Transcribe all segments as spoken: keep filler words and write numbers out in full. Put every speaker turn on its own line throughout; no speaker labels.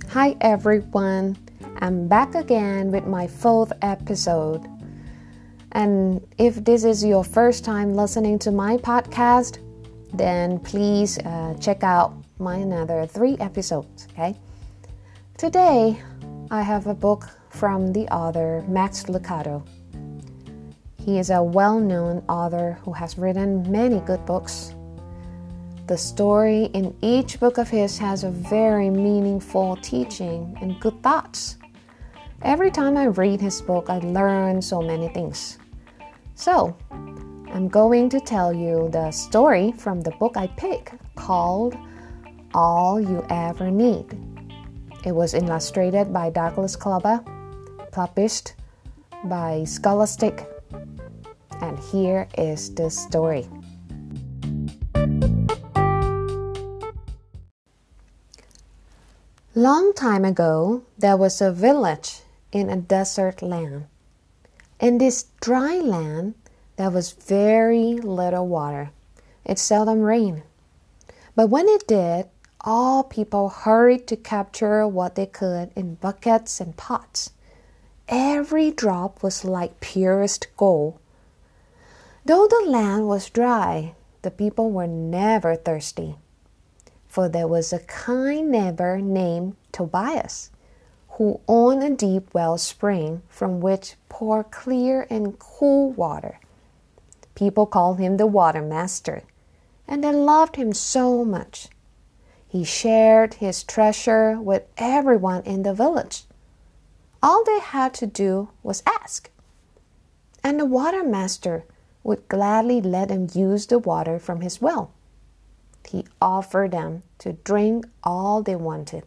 Hi everyone, I'm back again with my fourth episode. And if this is your first time listening to my podcast, then please uh, check out my another three episodes, okay? Today, I have a book from the author Max Lucado. He is a well-known author who has written many good books. The story in each book of his has a very meaningful teaching and good thoughts. Every time I read his book, I learn so many things. So, I'm going to tell you the story from the book I picked called All You Ever Need. It was illustrated by Douglas Klubba, published by Scholastic. And here is the story. Long time ago, there was a village in a desert land. In this dry land, there was very little water. It seldom rained. But when it did, all people hurried to capture what they could in buckets and pots. Every drop was like purest gold. Though the land was dry, the people were never thirsty. For there was a kind neighbor named Tobias, who owned a deep wellspring from which poured clear and cool water. People called him the Water Master, and they loved him so much. He shared his treasure with everyone in the village. All they had to do was ask. And the Water Master would gladly let them use the water from his well. He offered them to drink all they wanted.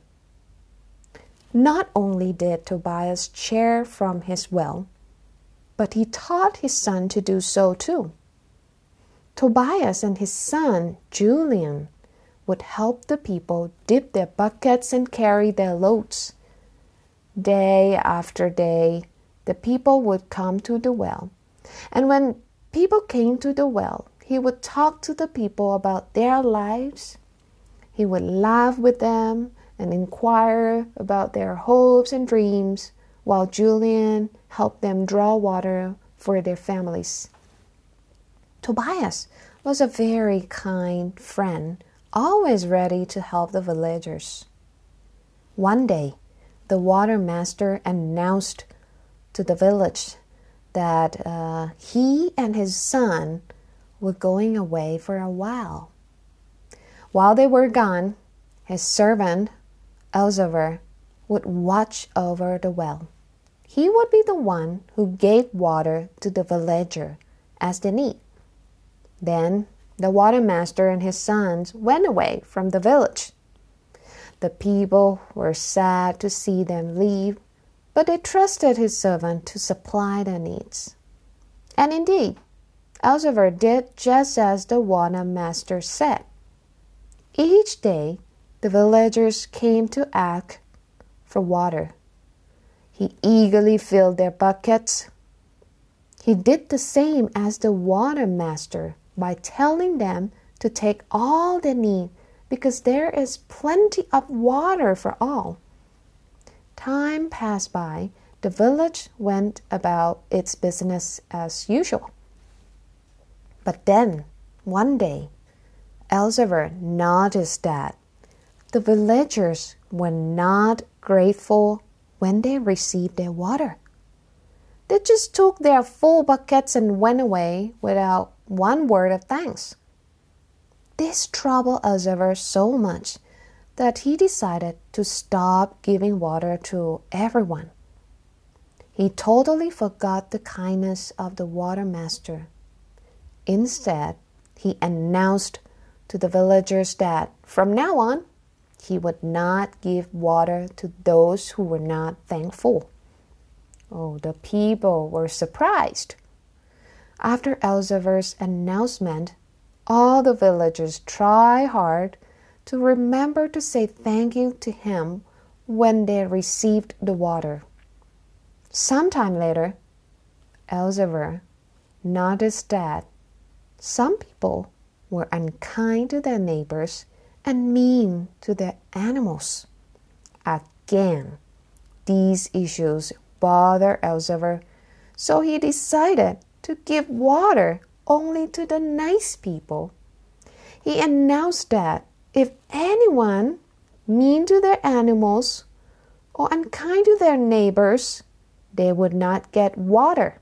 Not only did Tobias share from his well, but he taught his son to do so too. Tobias and his son, Julian, would help the people dip their buckets and carry their loads. Day after day, the people would come to the well. And when people came to the well, he would talk to the people about their lives. He would laugh with them and inquire about their hopes and dreams, while Julian helped them draw water for their families. Tobias was a very kind friend, always ready to help the villagers. One day, the Water Master announced to the village that uh, he and his son were going away for a while. While they were gone, his servant, Elzevir, would watch over the well. He would be the one who gave water to the villager as they need. Then the Water Master and his sons went away from the village. The people were sad to see them leave, but they trusted his servant to supply their needs. And indeed, Elzevir did just as the Water Master said. Each day, the villagers came to ask for water. He eagerly filled their buckets. He did the same as the Water Master by telling them to take all they need because there is plenty of water for all. Time passed by. The village went about its business as usual. But then, one day, Elzevir noticed that the villagers were not grateful when they received their water. They just took their full buckets and went away without one word of thanks. This troubled Elzevir so much that he decided to stop giving water to everyone. He totally forgot the kindness of the Water Master. Instead, he announced to the villagers that from now on, he would not give water to those who were not thankful. Oh, the people were surprised. After Elzevir's announcement, all the villagers tried hard to remember to say thank you to him when they received the water. Sometime later, Elzevir noticed that some people were unkind to their neighbors and mean to their animals. At again. These issues bothered Elzevir, so he decided to give water only to the nice people. He announced that if anyone mean to their animals or unkind to their neighbors, they would not get water.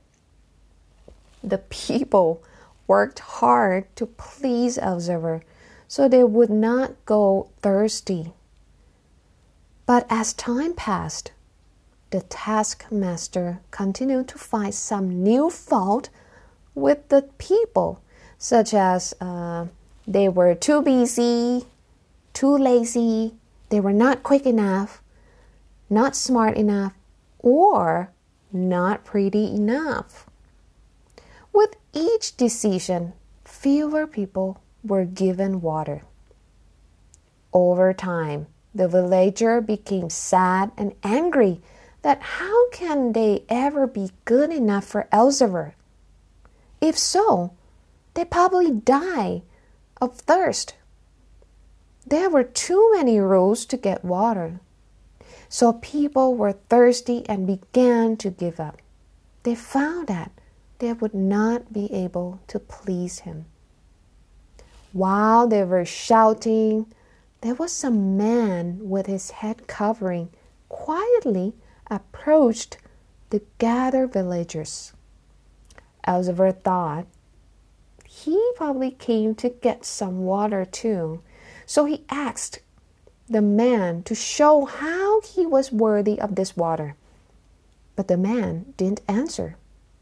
The people worked hard to please Elzevir, so they would not go thirsty. But as time passed, the taskmaster continued to find some new fault with the people, such as uh, they were too busy, too lazy, they were not quick enough, not smart enough, or not pretty enough. With each decision, fewer people were given water. Over time, the villager became sad and angry that how can they ever be good enough for Elzevir? If so, they probably die of thirst. There were too many rules to get water. So people were thirsty and began to give up. They found that they would not be able to please him. While they were shouting, there was a man with his head covering quietly approached the gathered villagers. Elzevir thought he probably came to get some water too, so he asked the man to show how he was worthy of this water. But the man didn't answer.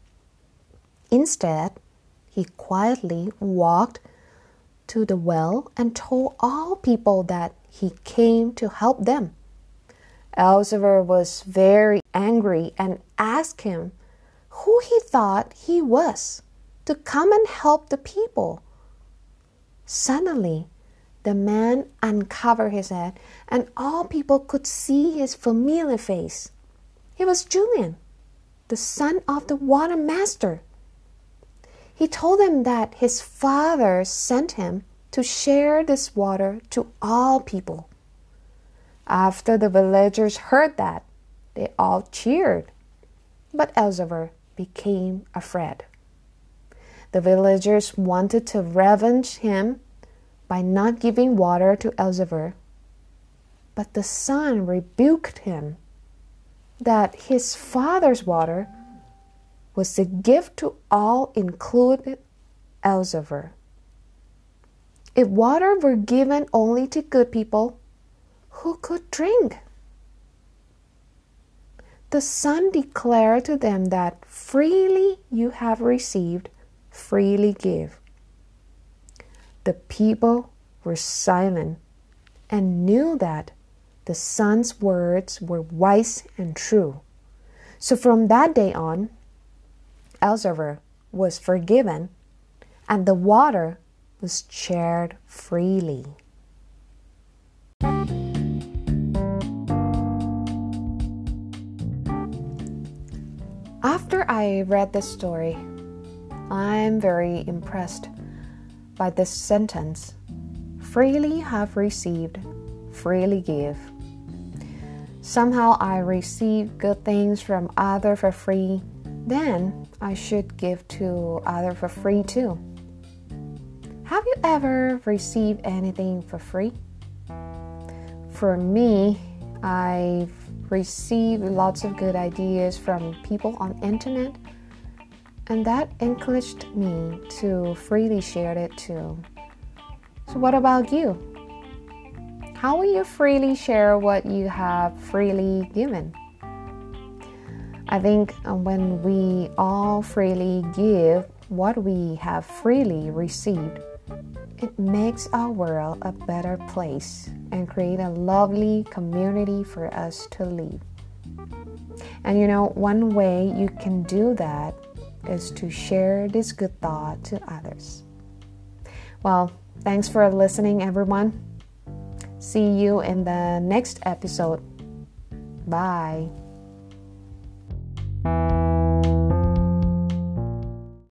Instead, he quietly walked to the well and told all people that he came to help them. Elzevir was very angry and asked him who he thought he was to come and help the people. Suddenly, the man uncovered his head and all people could see his familiar face. It was Julian, the son of the water master. He told them that his father sent him to share this water to all people. After the villagers heard that, they all cheered, but Elzevir became afraid. The villagers wanted to revenge him by not giving water to Elzevir, but the son rebuked him that his father's water was a gift to all, including Elzevir. If water were given only to good people, who could drink? The son declared to them that freely you have received, freely give. The people were silent and knew that the son's words were wise and true. So from that day on, Elzevir was forgiven and the water was shared freely. After I read this story, I'm very impressed by this sentence. Freely have received, freely give. Somehow I receive good things from others for free, then I should give to others for free too. Have you ever received anything for free? For me, I've received lots of good ideas from people on internet, and that encouraged me to freely share it too. So what about you? How will you freely share what you have freely given? I think when we all freely give what we have freely received, it makes our world a better place and create a lovely community for us to live. And you know, one way you can do that is to share this good thought to others. Well, thanks for listening, everyone. See you in the next episode. Bye.